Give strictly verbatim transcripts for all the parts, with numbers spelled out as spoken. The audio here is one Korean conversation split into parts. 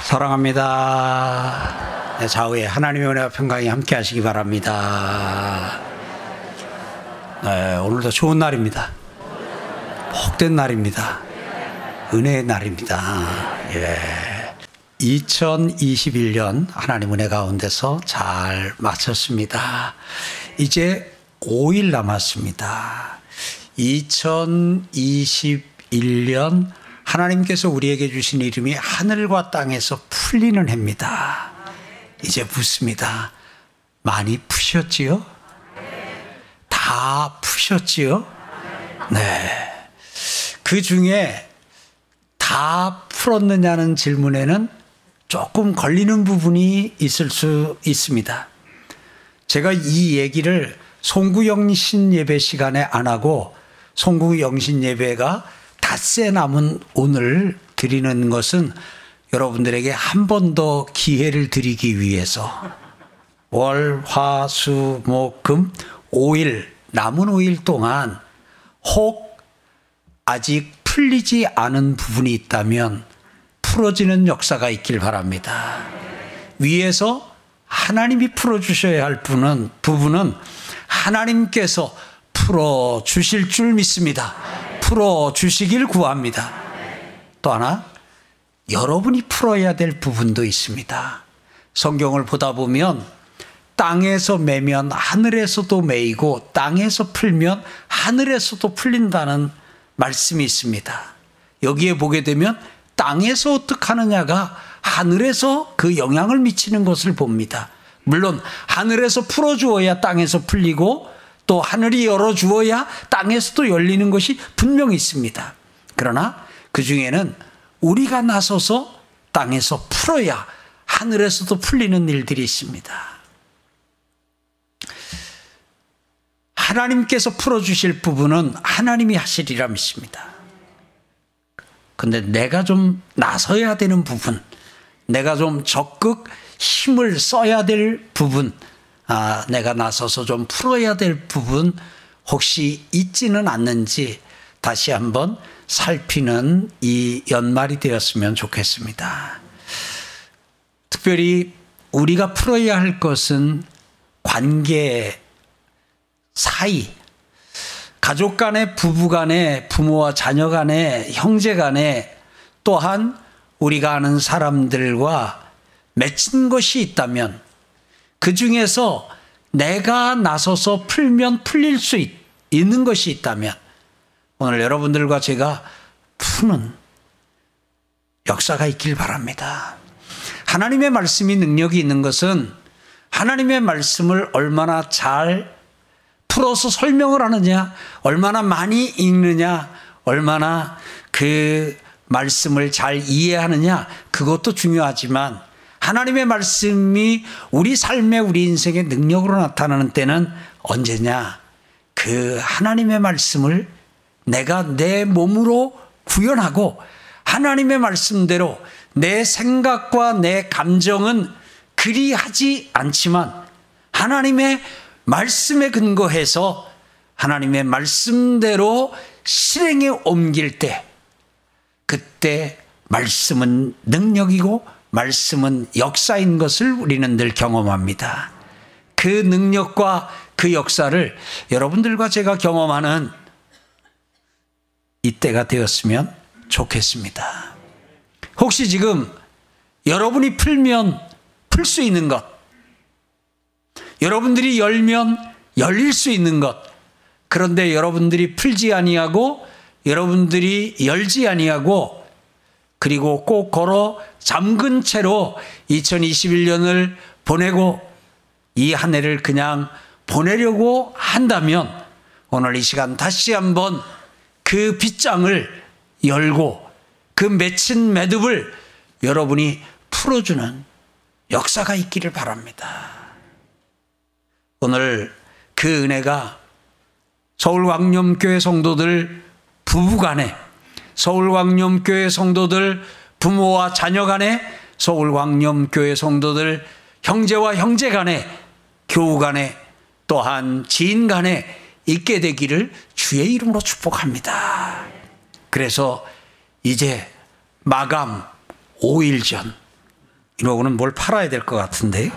사랑합니다. 네, 좌우에 하나님의 은혜와 평강이 함께 하시기 바랍니다. 네, 오늘도 좋은 날입니다. 복된 날입니다. 은혜의 날입니다. 예. 이천이십일 년 하나님 은혜 가운데서 잘 마쳤습니다. 이제 오 일 남았습니다. 이천이십일 년 하나님께서 우리에게 주신 이름이 하늘과 땅에서 풀리는 해입니다. 이제 묻습니다. 많이 푸셨지요? 다 푸셨지요? 네. 그 중에 다 풀었느냐는 질문에는 조금 걸리는 부분이 있을 수 있습니다. 제가 이 얘기를 송구영신 예배 시간에 안 하고 송구영신 예배가 닷새 남은 오늘 드리는 것은 여러분들에게 한 번 더 기회를 드리기 위해서 월, 화, 수, 목, 금 오 일 남은 오 일 동안 혹 아직 풀리지 않은 부분이 있다면 풀어지는 역사가 있길 바랍니다. 위에서 하나님이 풀어주셔야 할 부분은, 부분은 하나님께서 풀어주실 줄 믿습니다. 풀어주시길 구합니다. 또 하나, 여러분이 풀어야 될 부분도 있습니다. 성경을 보다 보면 땅에서 매면 하늘에서도 매이고 땅에서 풀면 하늘에서도 풀린다는 말씀이 있습니다. 여기에 보게 되면 땅에서 어떻게 하느냐가 하늘에서 그 영향을 미치는 것을 봅니다. 물론 하늘에서 풀어주어야 땅에서 풀리고 또 하늘이 열어주어야 땅에서도 열리는 것이 분명히 있습니다. 그러나 그 중에는 우리가 나서서 땅에서 풀어야 하늘에서도 풀리는 일들이 있습니다. 하나님께서 풀어주실 부분은 하나님이 하시리라 믿습니다. 근데 내가 좀 나서야 되는 부분, 내가 좀 적극 힘을 써야 될 부분, 아, 내가 나서서 좀 풀어야 될 부분 혹시 있지는 않는지 다시 한번 살피는 이 연말이 되었으면 좋겠습니다. 특별히 우리가 풀어야 할 것은 관계 사이, 가족 간에, 부부 간에, 부모와 자녀 간에, 형제 간에, 또한 우리가 아는 사람들과 맺힌 것이 있다면 그 중에서 내가 나서서 풀면 풀릴 수 있, 있는 것이 있다면 오늘 여러분들과 제가 푸는 역사가 있길 바랍니다. 하나님의 말씀이 능력이 있는 것은 하나님의 말씀을 얼마나 잘 풀어서 설명을 하느냐, 얼마나 많이 읽느냐, 얼마나 그 말씀을 잘 이해하느냐, 그것도 중요하지만 하나님의 말씀이 우리 삶에 우리 인생의 능력으로 나타나는 때는 언제냐? 그 하나님의 말씀을 내가 내 몸으로 구현하고 하나님의 말씀대로 내 생각과 내 감정은 그리 하지 않지만 하나님의 말씀에 근거해서 하나님의 말씀대로 실행에 옮길 때 그때 말씀은 능력이고 말씀은 역사인 것을 우리는 늘 경험합니다. 그 능력과 그 역사를 여러분들과 제가 경험하는 이때가 되었으면 좋겠습니다. 혹시 지금 여러분이 풀면 풀 수 있는 것, 여러분들이 열면 열릴 수 있는 것, 그런데 여러분들이 풀지 아니하고 여러분들이 열지 아니하고 그리고 꼭 걸어 잠근 채로 이천이십일 년을 보내고 이 한 해를 그냥 보내려고 한다면 오늘 이 시간 다시 한번 그 빗장을 열고 그 맺힌 매듭을 여러분이 풀어주는 역사가 있기를 바랍니다. 오늘 그 은혜가 서울광염교회 성도들 부부간에, 서울광염교회 성도들 부모와 자녀간에, 서울광염교회 성도들 형제와 형제간에, 교우간에, 또한 지인간에 있게 되기를 주의 이름으로 축복합니다. 그래서 이제 마감 오 일 전 이러고는 뭘 팔아야 될 것 같은데.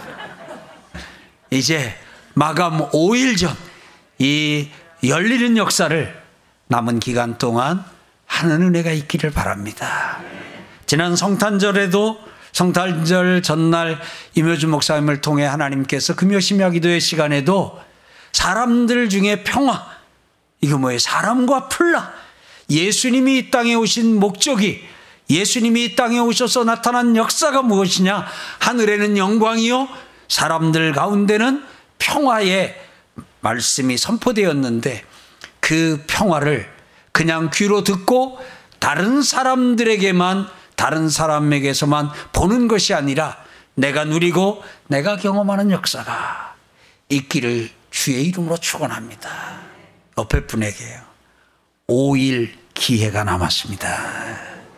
이제 마감 오 일 전 이 열리는 역사를 남은 기간 동안 하는 은혜가 있기를 바랍니다. 지난 성탄절에도 성탄절 전날 임효준 목사님을 통해 하나님께서 금요심야 기도의 시간에도 사람들 중에 평화, 이거 뭐예요? 사람과 플라, 예수님이 이 땅에 오신 목적이, 예수님이 이 땅에 오셔서 나타난 역사가 무엇이냐? 하늘에는 영광이요 사람들 가운데는 평화의 말씀이 선포되었는데, 그 평화를 그냥 귀로 듣고 다른 사람들에게만, 다른 사람에게서만 보는 것이 아니라 내가 누리고 내가 경험하는 역사가 있기를 주의 이름으로 축원합니다. 옆에 분에게요. 오 일 기회가 남았습니다.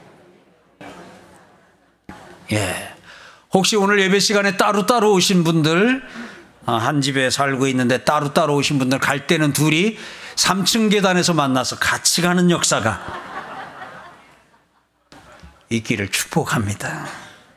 예. 혹시 오늘 예배 시간에 따로따로 오신 분들, 한 집에 살고 있는데 따로따로 오신 분들, 갈 때는 둘이 삼 층 계단에서 만나서 같이 가는 역사가 있기를 축복합니다.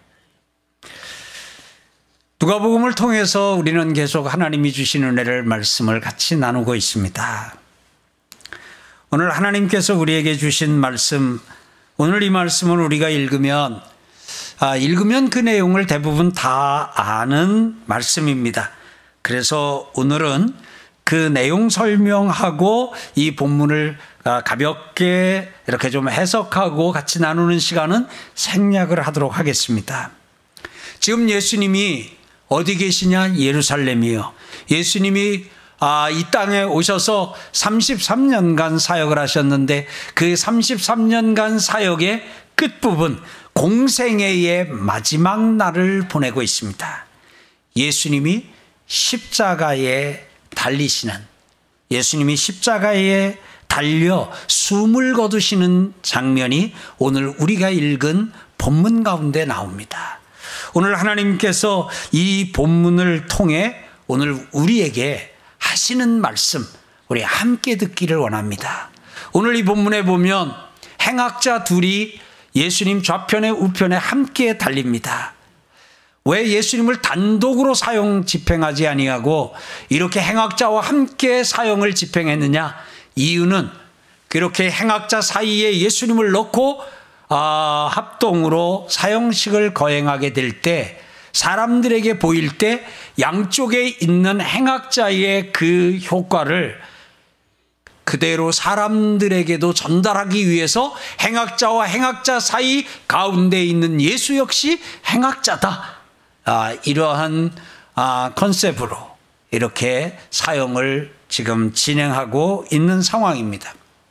누가복음을 통해서 우리는 계속 하나님이 주신 은혜를, 말씀을 같이 나누고 있습니다. 오늘 하나님께서 우리에게 주신 말씀, 오늘 이 말씀을 우리가 읽으면 아, 읽으면 그 내용을 대부분 다 아는 말씀입니다. 그래서 오늘은 그 내용 설명하고 이 본문을 가볍게 이렇게 좀 해석하고 같이 나누는 시간은 생략을 하도록 하겠습니다. 지금 예수님이 어디 계시냐? 예루살렘이요. 예수님이 아, 이 땅에 오셔서 삼십삼 년간 사역을 하셨는데, 그 삼십삼 년간 사역의 끝부분, 공생애의 마지막 날을 보내고 있습니다. 예수님이 십자가에 달리시는, 예수님이 십자가에 달려 숨을 거두시는 장면이 오늘 우리가 읽은 본문 가운데 나옵니다. 오늘 하나님께서 이 본문을 통해 오늘 우리에게 하시는 말씀, 우리 함께 듣기를 원합니다. 오늘 이 본문에 보면 행악자 둘이 예수님 좌편에 우편에 함께 달립니다. 왜 예수님을 단독으로 사형 집행하지 아니하고 이렇게 행악자와 함께 사형을 집행했느냐? 이유는 그렇게 행악자 사이에 예수님을 넣고 아, 합동으로 사형식을 거행하게 될 때, 사람들에게 보일 때 양쪽에 있는 행악자의 그 효과를 그대로 사람들에게도 전달하기 위해서 행악자와 행악자 사이 가운데 있는 예수 역시 행악자다. 아, 이러한 아, 컨셉으로 이렇게 사형을 지금 진행하고 있는 상황입니다.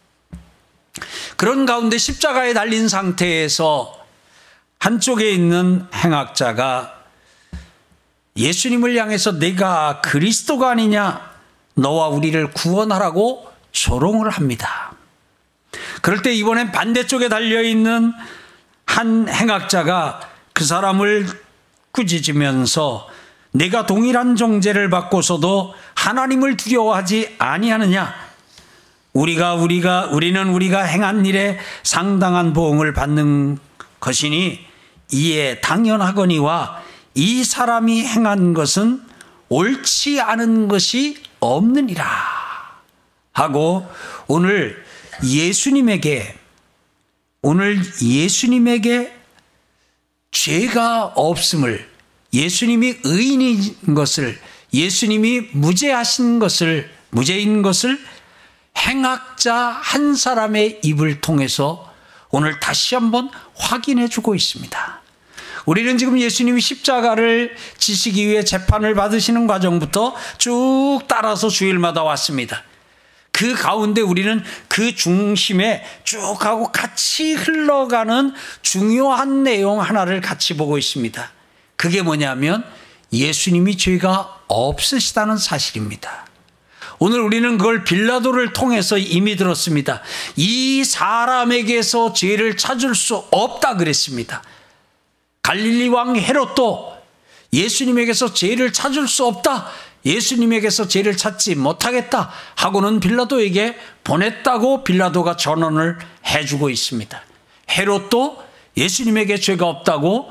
그런 가운데 십자가에 달린 상태에서 한쪽에 있는 행악자가 예수님을 향해서 내가 그리스도가 아니냐, 너와 우리를 구원하라고 조롱을 합니다. 그럴 때 이번엔 반대쪽에 달려있는 한 행악자가 그 사람을 꾸짖으면서 내가 동일한 정죄를 받고서도 하나님을 두려워하지 아니하느냐, 우리가 우리가 우리는 우리가 행한 일에 상당한 보응을 받는 것이니 이에 당연하거니와 이 사람이 행한 것은 옳지 않은 것이 없느니라 하고, 오늘 예수님에게 오늘 예수님에게 죄가 없음을, 예수님이 의인인 것을, 예수님이 무죄하신 것을, 무죄인 것을 행악자 한 사람의 입을 통해서 오늘 다시 한번 확인해 주고 있습니다. 우리는 지금 예수님이 십자가를 지시기 위해 재판을 받으시는 과정부터 쭉 따라서 주일마다 왔습니다. 그 가운데 우리는 그 중심에 쭉 하고 같이 흘러가는 중요한 내용 하나를 같이 보고 있습니다. 그게 뭐냐면 예수님이 죄가 없으시다는 사실입니다. 오늘 우리는 그걸 빌라도를 통해서 이미 들었습니다. 이 사람에게서 죄를 찾을 수 없다 그랬습니다. 갈릴리 왕 헤롯도 예수님에게서 죄를 찾을 수 없다, 예수님에게서 죄를 찾지 못하겠다 하고는 빌라도에게 보냈다고 빌라도가 전언을 해주고 있습니다. 헤롯도 예수님에게 죄가 없다고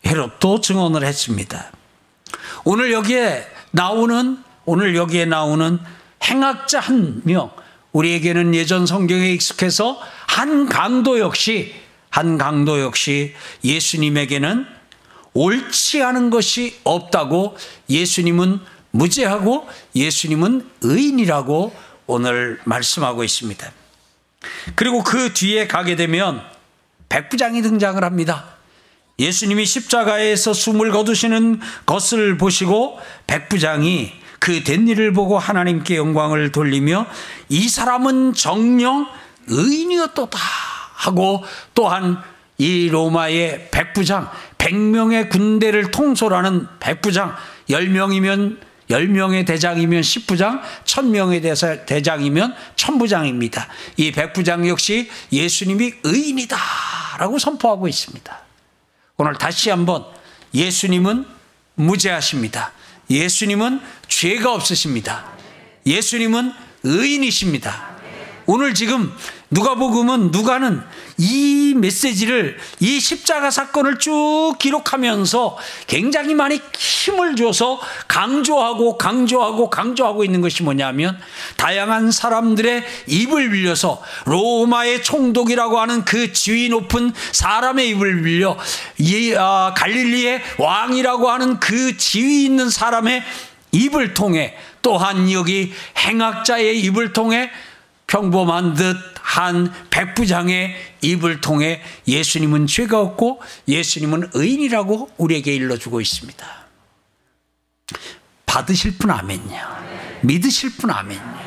헤롯도 증언을 했습니다. 오늘 여기에 나오는 오늘 여기에 나오는 행악자 한 명, 우리에게는 예전 성경에 익숙해서 한 강도 역시 한 강도 역시 예수님에게는 옳지 않은 것이 없다고, 예수님은 무죄하고 예수님은 의인이라고 오늘 말씀하고 있습니다. 그리고 그 뒤에 가게 되면 백부장이 등장을 합니다. 예수님이 십자가에서 숨을 거두시는 것을 보시고 백부장이 그 된 일을 보고 하나님께 영광을 돌리며 이 사람은 정녕 의인이었도다 하고, 또한 이 로마의 백부장, 백 명의 군대를 통솔하는 백부장, 십 명이면 십 명의 대장이면 십부장, 천 명의 대장이면 천부장입니다. 이 백부장 역시 예수님이 의인이다 라고 선포하고 있습니다. 오늘 다시 한번 예수님은 무죄하십니다. 예수님은 죄가 없으십니다. 예수님은 의인이십니다. 오늘 지금 누가복음은 누가는 이 메시지를, 이 십자가 사건을 쭉 기록하면서 굉장히 많이 힘을 줘서 강조하고 강조하고 강조하고 있는 것이 뭐냐면, 다양한 사람들의 입을 빌려서 로마의 총독이라고 하는 그 지위 높은 사람의 입을 빌려, 이 아, 갈릴리의 왕이라고 하는 그 지위 있는 사람의 입을 통해, 또한 여기 행악자의 입을 통해, 평범한 듯 한 백부장의 입을 통해 예수님은 죄가 없고 예수님은 의인이라고 우리에게 일러주고 있습니다. 받으실 분 아멘요. 믿으실 분 아멘요.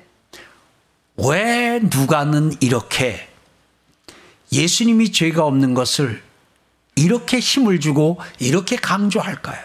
왜 누가는 이렇게 예수님이 죄가 없는 것을 이렇게 힘을 주고 이렇게 강조할까요?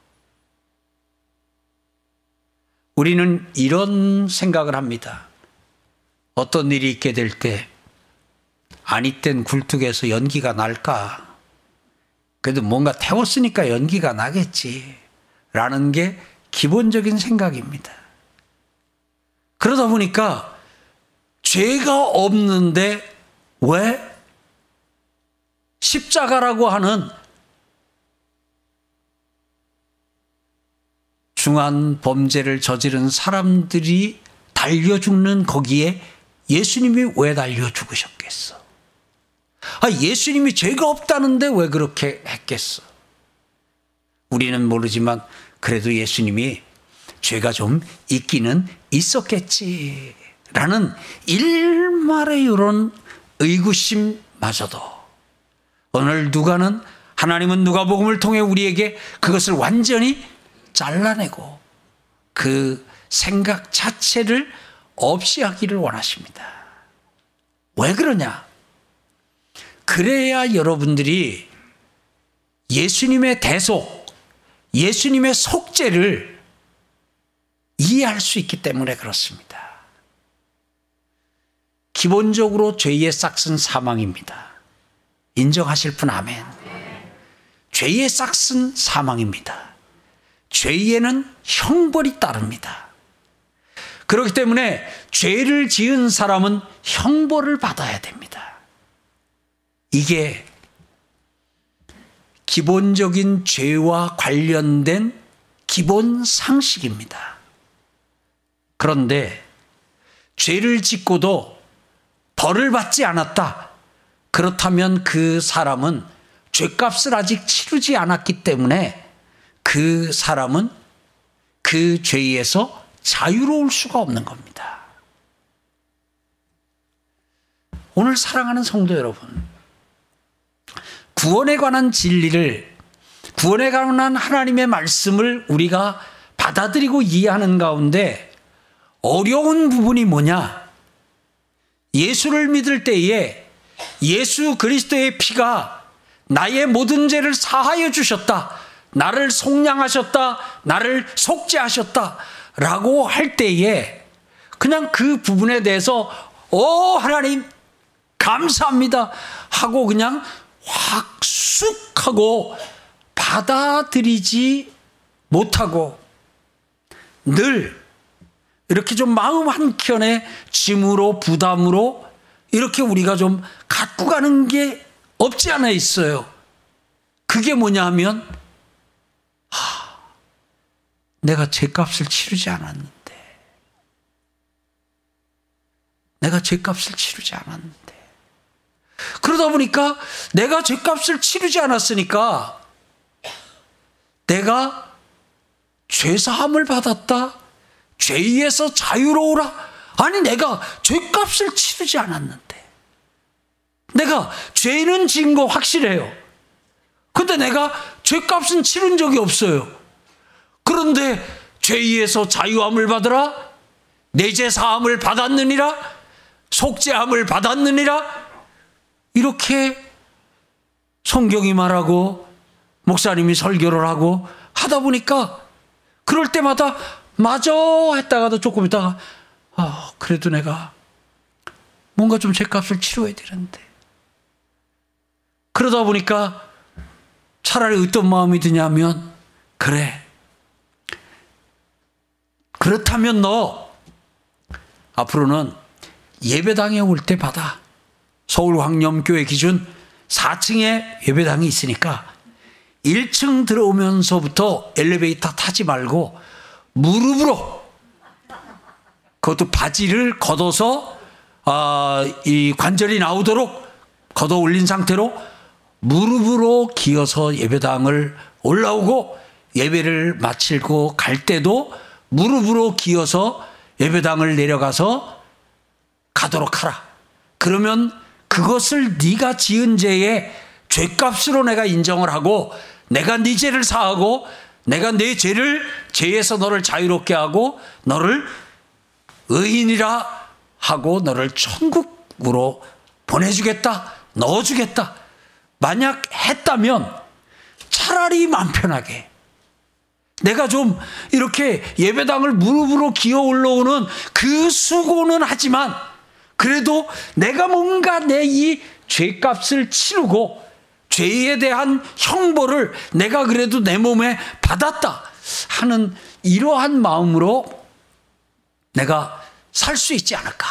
우리는 이런 생각을 합니다. 어떤 일이 있게 될 때 아니 땐 굴뚝에서 연기가 날까? 그래도 뭔가 태웠으니까 연기가 나겠지 라는 게 기본적인 생각입니다. 그러다 보니까 죄가 없는데 왜 십자가라고 하는 중한 범죄를 저지른 사람들이 달려 죽는 거기에 예수님이 왜 달려 죽으셨겠어? 아, 예수님이 죄가 없다는데 왜 그렇게 했겠어? 우리는 모르지만 그래도 예수님이 죄가 좀 있기는 있었겠지라는 일말의 이런 의구심마저도 오늘 누가는, 하나님은 누가복음을 통해 우리에게 그것을 완전히 잘라내고 그 생각 자체를 없이 하기를 원하십니다. 왜 그러냐? 그래야 여러분들이 예수님의 대속, 예수님의 속죄를 이해할 수 있기 때문에 그렇습니다. 기본적으로 죄의 싹은 사망입니다. 인정하실 분 아멘. 죄의 싹은 사망입니다. 죄에는 형벌이 따릅니다. 그렇기 때문에 죄를 지은 사람은 형벌을 받아야 됩니다. 이게 기본적인 죄와 관련된 기본 상식입니다. 그런데 죄를 짓고도 벌을 받지 않았다. 그렇다면 그 사람은 죄값을 아직 치르지 않았기 때문에 그 사람은 그 죄에서 자유로울 수가 없는 겁니다. 오늘 사랑하는 성도 여러분, 구원에 관한 진리를, 구원에 관한 하나님의 말씀을 우리가 받아들이고 이해하는 가운데 어려운 부분이 뭐냐? 예수를 믿을 때에 예수 그리스도의 피가 나의 모든 죄를 사하여 주셨다, 나를 속량하셨다, 나를 속죄하셨다 라고 할 때에 그냥 그 부분에 대해서 오 하나님 감사합니다 하고 그냥 확 쑥 하고 받아들이지 못하고 늘 이렇게 좀 마음 한켠에 짐으로 부담으로 이렇게 우리가 좀 갖고 가는 게 없지 않아 있어요. 그게 뭐냐 하면 하, 내가 죄값을 치르지 않았는데 내가 죄값을 치르지 않았는데 그러다 보니까 내가 죄값을 치르지 않았으니까 내가 죄사함을 받았다, 죄에서 자유로우라. 아니 내가 죄값을 치르지 않았는데 내가 죄는 지은 거 확실해요. 근데 내가 죄값은 치른 적이 없어요. 그런데 죄에서 자유함을 받으라, 내 죄 사함을 받았느니라, 속죄함을 받았느니라, 이렇게 성경이 말하고 목사님이 설교를 하고 하다 보니까 그럴 때마다 맞아 했다가도 조금 있다가 아, 그래도 내가 뭔가 좀 죄값을 치러야 되는데, 그러다 보니까 차라리 어떤 마음이 드냐면 그래, 그렇다면 너 앞으로는 예배당에 올 때 받아. 서울광염교회 기준 사 층에 예배당이 있으니까 일 층 들어오면서부터 엘리베이터 타지 말고 무릎으로, 그것도 바지를 걷어서 아, 이 관절이 나오도록 걷어 올린 상태로 무릎으로 기어서 예배당을 올라오고, 예배를 마치고 갈 때도 무릎으로 기어서 예배당을 내려가서 가도록 하라. 그러면 그것을 네가 지은 죄의 죄값으로 내가 인정을 하고, 내가 네 죄를 사하고, 내가 네 죄를 죄에서 너를 자유롭게 하고 너를 의인이라 하고 너를 천국으로 보내주겠다, 넣어주겠다. 만약 했다면 차라리 마음 편하게 내가 좀 이렇게 예배당을 무릎으로 기어 올라오는 그 수고는 하지만 그래도 내가 뭔가 내 이 죄값을 치르고 죄에 대한 형벌을 내가 그래도 내 몸에 받았다 하는 이러한 마음으로 내가 살 수 있지 않을까.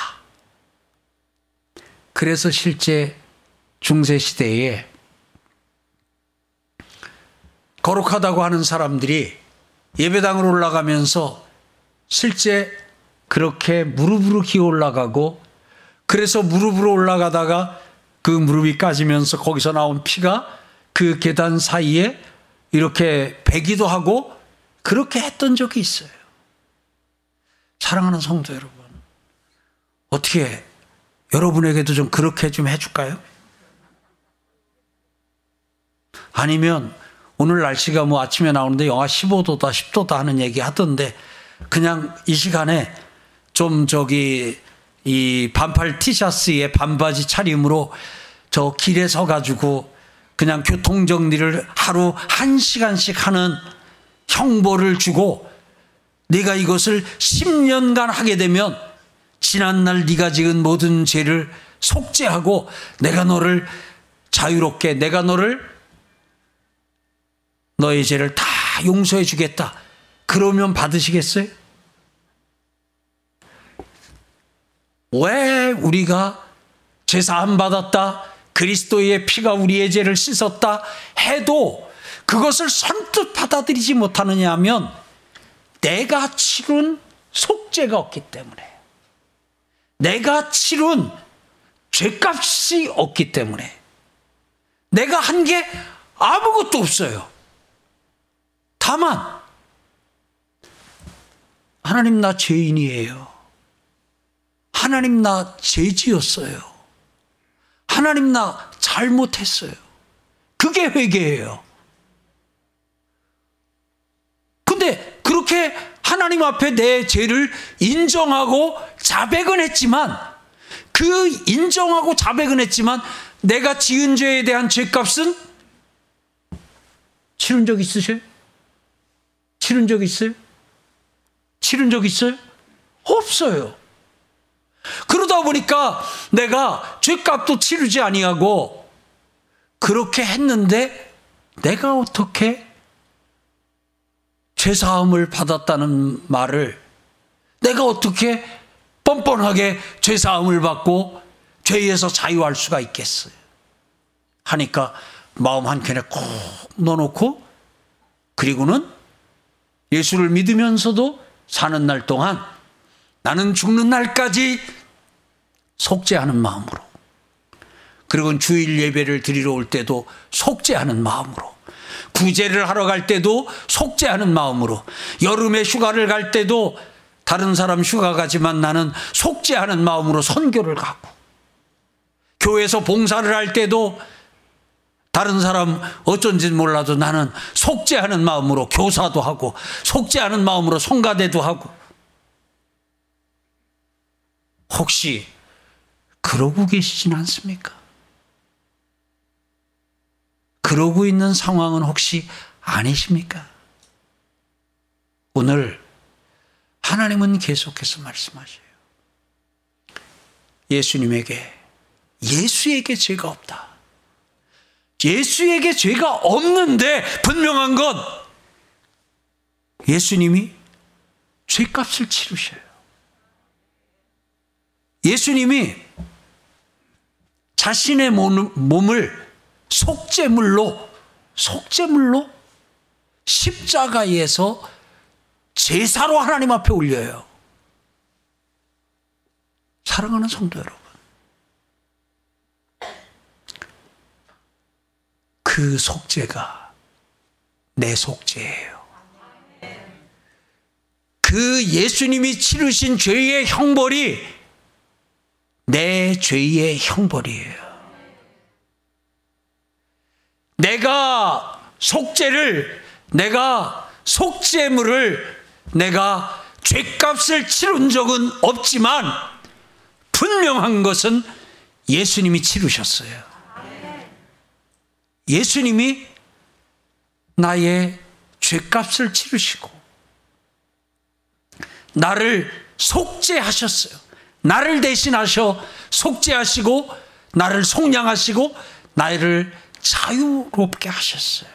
그래서 실제 중세시대에 거룩하다고 하는 사람들이 예배당으로 올라가면서 실제 그렇게 무릎으로 기어 올라가고, 그래서 무릎으로 올라가다가 그 무릎이 까지면서 거기서 나온 피가 그 계단 사이에 이렇게 배기도 하고 그렇게 했던 적이 있어요. 사랑하는 성도 여러분, 어떻게 여러분에게도 좀 그렇게 좀 해줄까요? 아니면 오늘 날씨가 뭐 아침에 나오는데 영하 십오 도다 십 도다 하는 얘기 하던데 그냥 이 시간에 좀 저기 이 반팔 티셔츠에 반바지 차림으로 저 길에 서가지고 그냥 교통정리를 하루 한 시간씩 하는 형벌을 주고, 네가 이것을 십 년간 하게 되면 지난날 네가 지은 모든 죄를 속죄하고 내가 너를 자유롭게, 내가 너를 너의 죄를 다 용서해 주겠다. 그러면 받으시겠어요? 왜 우리가 죄사함 받았다, 그리스도의 피가 우리의 죄를 씻었다 해도 그것을 선뜻 받아들이지 못하느냐 하면 내가 치른 속죄가 없기 때문에, 내가 치른 죄값이 없기 때문에, 내가 한 게 아무것도 없어요. 다만 하나님 나 죄인이에요. 하나님 나 죄지었어요. 하나님 나 잘못했어요. 그게 회개예요. 근데 그렇게 하나님 앞에 내 죄를 인정하고 자백은 했지만, 그 인정하고 자백은 했지만 내가 지은 죄에 대한 죄값은 치른 적 있으세요? 치른 적 있어요? 치른 적 있어요? 없어요. 그러다 보니까 내가 죄값도 치르지 아니하고 그렇게 했는데 내가 어떻게 죄사함을 받았다는 말을, 내가 어떻게 뻔뻔하게 죄사함을 받고 죄에서 자유할 수가 있겠어요? 하니까 마음 한켠에 콕 넣어놓고 그리고는 예수를 믿으면서도 사는 날 동안 나는 죽는 날까지 속죄하는 마음으로, 그리고 주일 예배를 드리러 올 때도 속죄하는 마음으로, 구제를 하러 갈 때도 속죄하는 마음으로, 여름에 휴가를 갈 때도 다른 사람 휴가 가지만 나는 속죄하는 마음으로 선교를 가고, 교회에서 봉사를 할 때도 다른 사람 어쩐지 몰라도 나는 속죄하는 마음으로 교사도 하고 속죄하는 마음으로 성가대도 하고. 혹시 그러고 계시진 않습니까? 그러고 있는 상황은 혹시 아니십니까? 오늘 하나님은 계속해서 말씀하셔요. 예수님에게, 예수에게 죄가 없다. 예수에게 죄가 없는데 분명한 건 예수님이 죄값을 치르셔요. 예수님이 자신의 몸을 속죄물로 속죄물로 십자가에서 제사로 하나님 앞에 올려요. 사랑하는 성도 여러분, 그 속죄가 내 속죄예요. 그 예수님이 치르신 죄의 형벌이 내 죄의 형벌이에요. 내가 속죄를, 내가 속죄물을, 내가 죄값을 치른 적은 없지만 분명한 것은 예수님이 치르셨어요. 예수님이 나의 죄값을 치르시고 나를 속죄하셨어요. 나를 대신하셔 속죄하시고 나를 속량하시고 나를 자유롭게 하셨어요.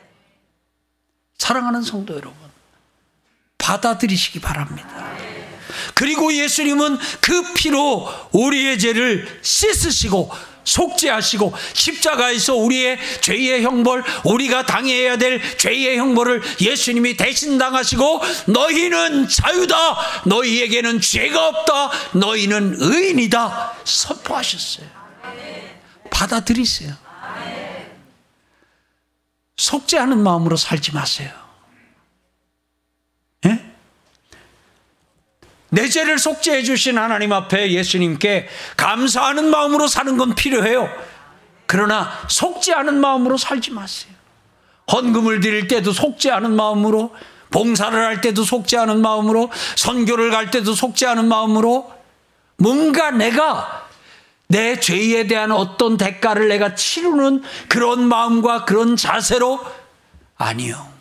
사랑하는 성도 여러분, 받아들이시기 바랍니다. 그리고 예수님은 그 피로 우리의 죄를 씻으시고 속죄하시고 십자가에서 우리의 죄의 형벌, 우리가 당해야 될 죄의 형벌을 예수님이 대신 당하시고 너희는 자유다, 너희에게는 죄가 없다, 너희는 의인이다 선포하셨어요. 받아들이세요. 속죄하는 마음으로 살지 마세요. 예? 내 죄를 속죄해 주신 하나님 앞에 예수님께 감사하는 마음으로 사는 건 필요해요. 그러나 속죄하는 마음으로 살지 마세요. 헌금을 드릴 때도 속죄하는 마음으로, 봉사를 할 때도 속죄하는 마음으로, 선교를 갈 때도 속죄하는 마음으로, 뭔가 내가 내 죄에 대한 어떤 대가를 내가 치르는 그런 마음과 그런 자세로, 아니요.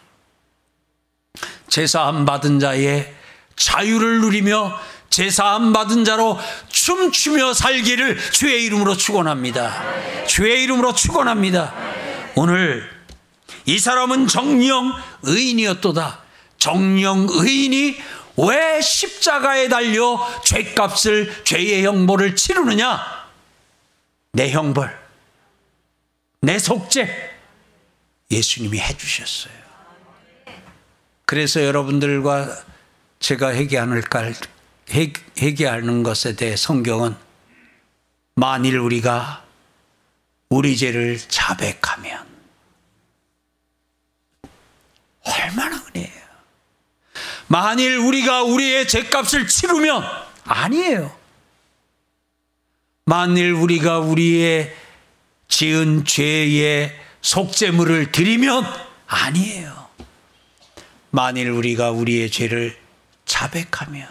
제사함 받은 자의 자유를 누리며 제사함 받은 자로 춤추며 살기를 주의 이름으로 축원합니다. 주의 이름으로 축원합니다. 오늘 이 사람은 정령 의인이었도다. 정령 의인이 왜 십자가에 달려 죄값을, 죄의 형벌을 치르느냐? 내 형벌, 내 속죄 예수님이 해주셨어요. 그래서 여러분들과 제가 회개하는, 회개하는 것에 대해 성경은 만일 우리가 우리 죄를 자백하면, 얼마나 은혜예요. 만일 우리가 우리의 죄값을 치르면, 아니에요. 만일 우리가 우리의 지은 죄의 속죄물을 드리면, 아니에요. 만일 우리가 우리의 죄를 자백하면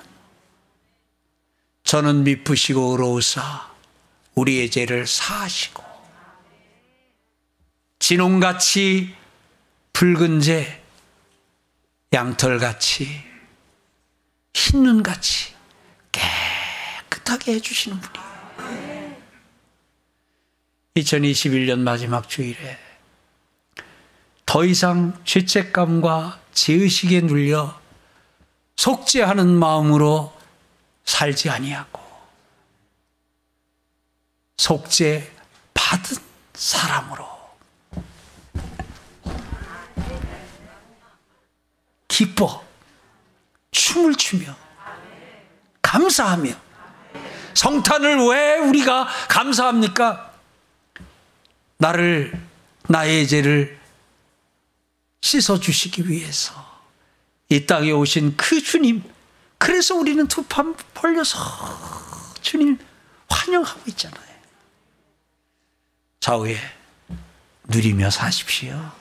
저는 미쁘시고 의로우사 우리의 죄를 사하시고 진홍같이 붉은 죄 양털같이 흰 눈같이 깨끗하게 해주시는 분이에요. 이천이십일 년 마지막 주일에 더 이상 죄책감과 죄의식에 눌려 속죄하는 마음으로 살지 아니하고 속죄 받은 사람으로 기뻐 춤을 추며 감사하며. 성탄을 왜 우리가 감사합니까? 나를, 나의 죄를 씻어주시기 위해서 이 땅에 오신 그 주님, 그래서 우리는 두 판 벌려서 주님 환영하고 있잖아요. 좌우에 누리며 사십시오.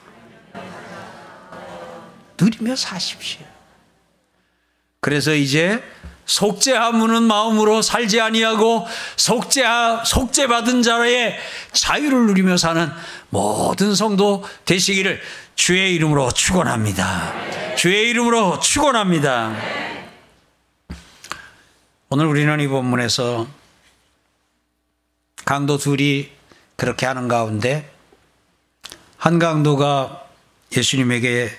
누리며 사십시오. 그래서 이제 속죄하무는 마음으로 살지 아니하고 속죄하, 속죄받은 자의 자유를 누리며 사는 모든 성도 되시기를 주의 이름으로 축원합니다. 주의 이름으로 축원합니다. 오늘 우리는 이 본문에서 강도 둘이 그렇게 하는 가운데 한 강도가 예수님에게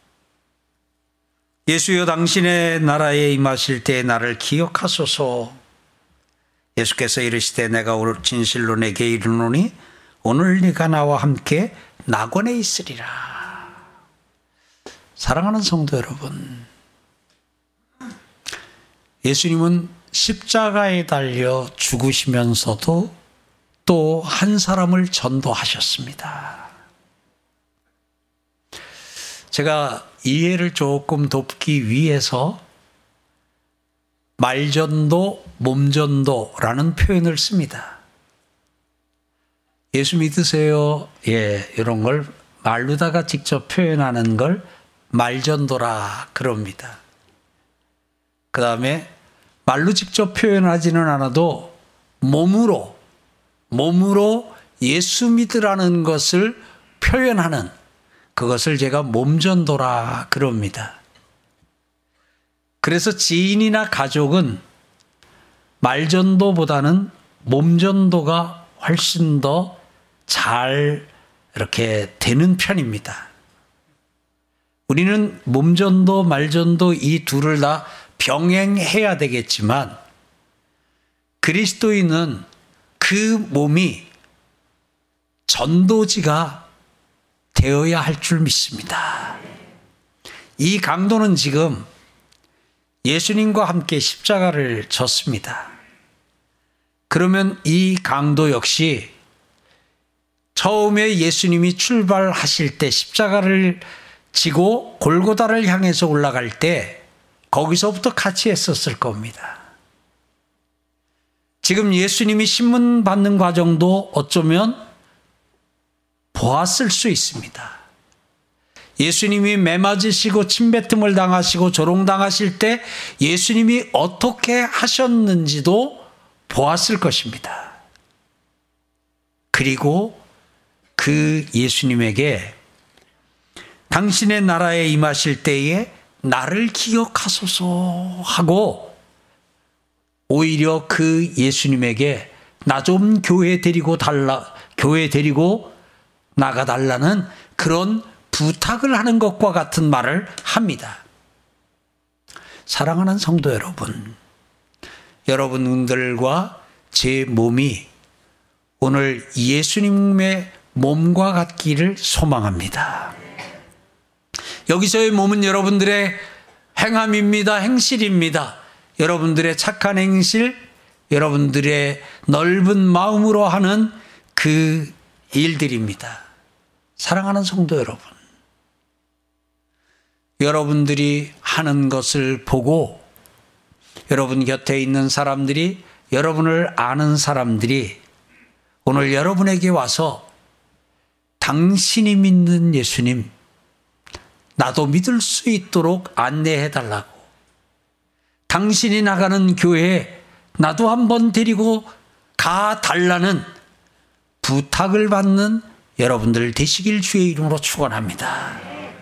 예수여 당신의 나라에 임하실 때 나를 기억하소서. 예수께서 이르시되 내가 오늘 진실로 내게 이르노니 오늘 네가 나와 함께 낙원에 있으리라. 사랑하는 성도 여러분, 예수님은 십자가에 달려 죽으시면서도 또 한 사람을 전도하셨습니다. 제가 이해를 조금 돕기 위해서 말전도, 몸전도라는 표현을 씁니다. 예수 믿으세요? 예, 이런 걸 말로다가 직접 표현하는 걸 말전도라 그럽니다. 그 다음에 말로 직접 표현하지는 않아도 몸으로, 몸으로 예수 믿으라는 것을 표현하는 그것을 제가 몸전도라 그럽니다. 그래서 지인이나 가족은 말전도보다는 몸전도가 훨씬 더 잘 이렇게 되는 편입니다. 우리는 몸전도, 말전도 이 둘을 다 병행해야 되겠지만 그리스도인은 그 몸이 전도지가 되어야 할 줄 믿습니다. 이 강도는 지금 예수님과 함께 십자가를 졌습니다. 그러면 이 강도 역시 처음에 예수님이 출발하실 때 십자가를 지고 골고다를 향해서 올라갈 때 거기서부터 같이 했었을 겁니다. 지금 예수님이 신문 받는 과정도 어쩌면 보았을 수 있습니다. 예수님이 매맞으시고 침뱉음을 당하시고 조롱당하실 때 예수님이 어떻게 하셨는지도 보았을 것입니다. 그리고 그 예수님에게 당신의 나라에 임하실 때에 나를 기억하소서 하고 오히려 그 예수님에게 나 좀 교회 데리고 달라, 교회 데리고 나가달라는 그런 부탁을 하는 것과 같은 말을 합니다. 사랑하는 성도 여러분, 여러분들과 제 몸이 오늘 예수님의 몸과 같기를 소망합니다. 여기서의 몸은 여러분들의 행함입니다. 행실입니다. 여러분들의 착한 행실, 여러분들의 넓은 마음으로 하는 그 일들입니다. 사랑하는 성도 여러분, 여러분들이 하는 것을 보고 여러분 곁에 있는 사람들이, 여러분을 아는 사람들이 오늘 여러분에게 와서 당신이 믿는 예수님 나도 믿을 수 있도록 안내해달라고, 당신이 나가는 교회에 나도 한번 데리고 가달라는 부탁을 받는 여러분들 되시길 주의 이름으로 축원합니다.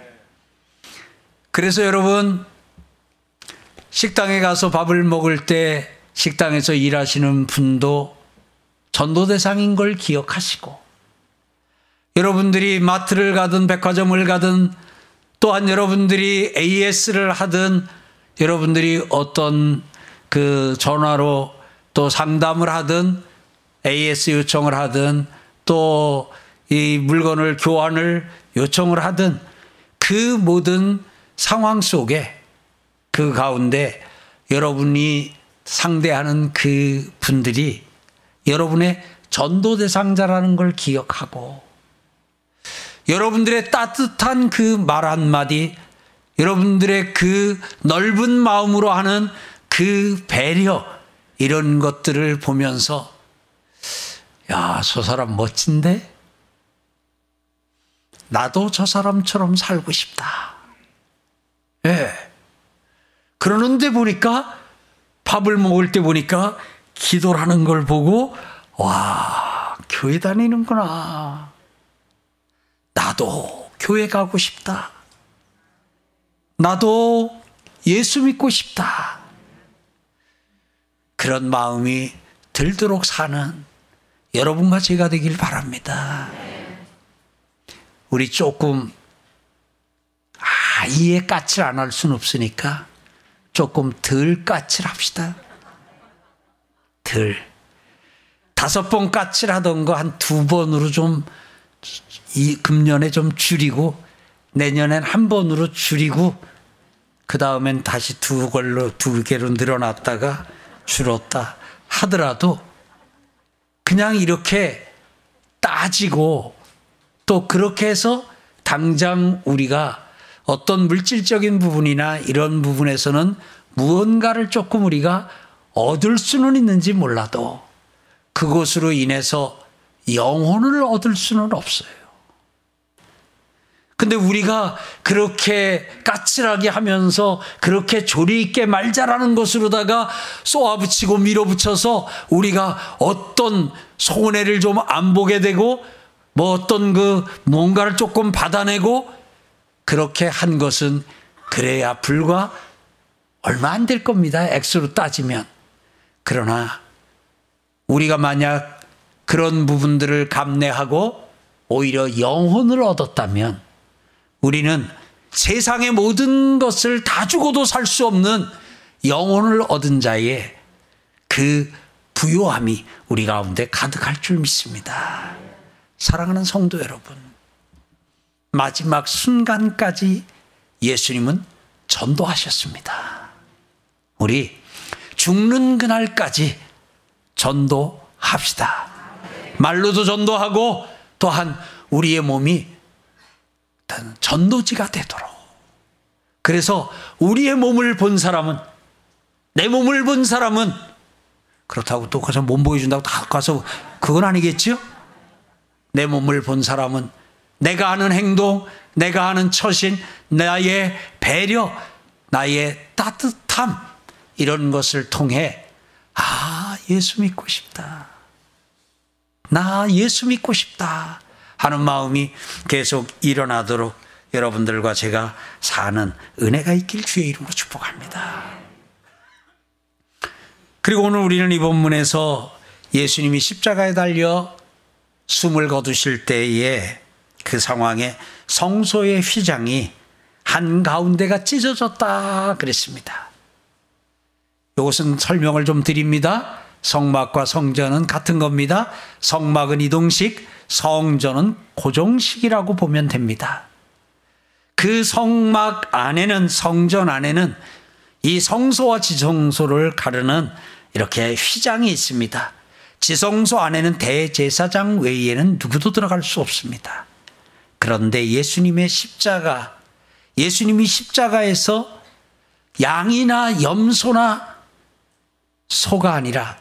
그래서 여러분, 식당에 가서 밥을 먹을 때 식당에서 일하시는 분도 전도 대상인 걸 기억하시고, 여러분들이 마트를 가든 백화점을 가든 또한 여러분들이 에이에스를 하든 여러분들이 어떤 그 전화로 또 상담을 하든 에이에스 요청을 하든 또 이 물건을 교환을 요청을 하든 그 모든 상황 속에 그 가운데 여러분이 상대하는 그 분들이 여러분의 전도 대상자라는 걸 기억하고 여러분들의 따뜻한 그 말 한마디, 여러분들의 그 넓은 마음으로 하는 그 배려, 이런 것들을 보면서 야, 저 사람 멋진데? 나도 저 사람처럼 살고 싶다. 예. 그러는데 보니까, 밥을 먹을 때 보니까 기도를 하는 걸 보고 와, 교회 다니는구나. 나도 교회 가고 싶다. 나도 예수 믿고 싶다. 그런 마음이 들도록 사는 여러분과 제가 되길 바랍니다. 우리 조금 아예 까칠 안 할 수는 없으니까 조금 덜 까칠합시다. 덜. 다섯 번 까칠하던 거 한 두 번으로 좀, 이 금년에 좀 줄이고 내년엔 한 번으로 줄이고 그 다음엔 다시 두 걸로 두 개로 늘어났다가 줄었다 하더라도 그냥 이렇게 따지고 또 그렇게 해서 당장 우리가 어떤 물질적인 부분이나 이런 부분에서는 무언가를 조금 우리가 얻을 수는 있는지 몰라도 그것으로 인해서 영혼을 얻을 수는 없어요. 근데 우리가 그렇게 까칠하게 하면서 그렇게 조리 있게 말자라는 것으로다가 쏘아붙이고 밀어붙여서 우리가 어떤 손해를 좀 안 보게 되고 뭐 어떤 그 뭔가를 조금 받아내고 그렇게 한 것은 그래야 불과 얼마 안 될 겁니다. 액수로 따지면. 그러나 우리가 만약 그런 부분들을 감내하고 오히려 영혼을 얻었다면 우리는 세상의 모든 것을 다 주고도 살 수 없는 영혼을 얻은 자의 그 부요함이 우리 가운데 가득할 줄 믿습니다. 사랑하는 성도 여러분, 마지막 순간까지 예수님은 전도하셨습니다. 우리 죽는 그날까지 전도합시다. 말로도 전도하고 또한 우리의 몸이 전도지가 되도록. 그래서 우리의 몸을 본 사람은, 내 몸을 본 사람은 그렇다고 또 가서 몸 보여준다고 다 가서 그건 아니겠죠? 내 몸을 본 사람은 내가 하는 행동, 내가 하는 처신, 나의 배려, 나의 따뜻함, 이런 것을 통해 아, 예수 믿고 싶다. 나 예수 믿고 싶다 하는 마음이 계속 일어나도록 여러분들과 제가 사는 은혜가 있길 주의 이름으로 축복합니다. 그리고 오늘 우리는 이 본문에서 예수님이 십자가에 달려 숨을 거두실 때에 그 상황에 성소의 휘장이 한가운데가 찢어졌다 그랬습니다. 이것은 설명을 좀 드립니다. 성막과 성전은 같은 겁니다. 성막은 이동식, 성전은 고정식이라고 보면 됩니다. 그 성막 안에는, 성전 안에는 이 성소와 지성소를 가르는 이렇게 휘장이 있습니다. 지성소 안에는 대제사장 외에는 누구도 들어갈 수 없습니다. 그런데 예수님의 십자가, 예수님이 십자가에서 양이나 염소나 소가 아니라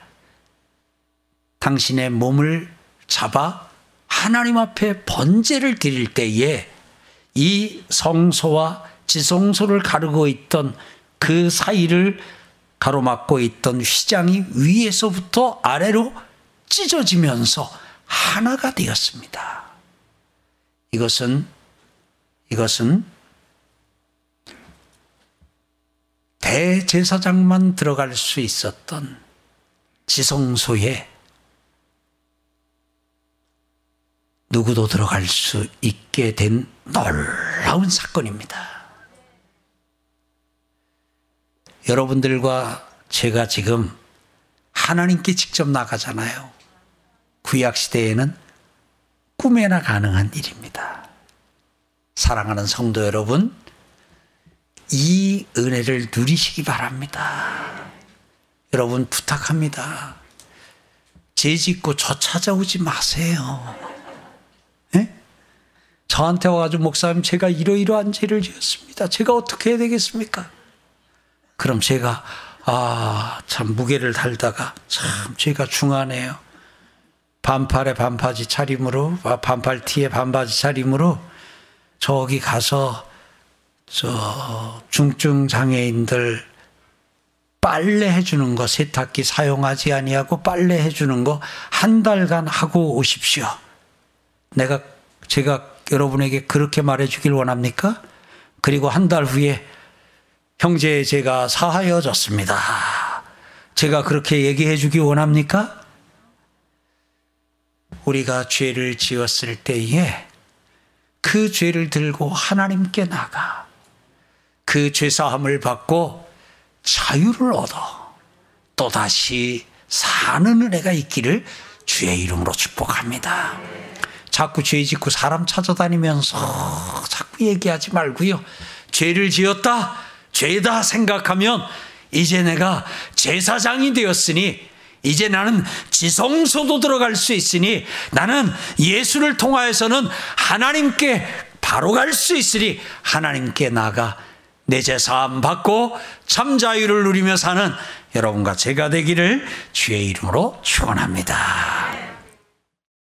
당신의 몸을 잡아 하나님 앞에 번제를 드릴 때에 이 성소와 지성소를 가르고 있던 그 사이를 가로막고 있던 휘장이 위에서부터 아래로 찢어지면서 하나가 되었습니다. 이것은 이것은 대제사장만 들어갈 수 있었던 지성소에 누구도 들어갈 수 있게 된 놀라운 사건입니다. 여러분들과 제가 지금 하나님께 직접 나가잖아요. 구약시대에는 꿈에나 가능한 일입니다. 사랑하는 성도 여러분, 이 은혜를 누리시기 바랍니다. 여러분 부탁합니다. 죄 짓고 저 찾아오지 마세요. 네? 저한테 와가지고 목사님 제가 이러이러한 죄를 지었습니다. 제가 어떻게 해야 되겠습니까? 그럼 제가 아, 참 무게를 달다가 참 죄가 중하네요. 반팔에 반바지 차림으로, 반팔 티에 반바지 차림으로 저기 가서 저 중증 장애인들 빨래 해주는 거, 세탁기 사용하지 아니하고 빨래 해주는 거 한 달간 하고 오십시오. 내가 제가 여러분에게 그렇게 말해주길 원합니까? 그리고 한 달 후에 형제 제가 사하여졌습니다. 제가 그렇게 얘기해 주기 원합니까? 우리가 죄를 지었을 때에 그 죄를 들고 하나님께 나가 그 죄사함을 받고 자유를 얻어 또다시 사는 은혜가 있기를 주의 이름으로 축복합니다. 자꾸 죄 짓고 사람 찾아다니면서 자꾸 얘기하지 말고요. 죄를 지었다, 죄다 생각하면 이제 내가 제사장이 되었으니 이제 나는 지성소도 들어갈 수 있으니 나는 예수를 통하여서는 하나님께 바로 갈 수 있으니 하나님께 나가 내 제사함 받고 참 자유를 누리며 사는 여러분과 제가 되기를 주의 이름으로 축원합니다.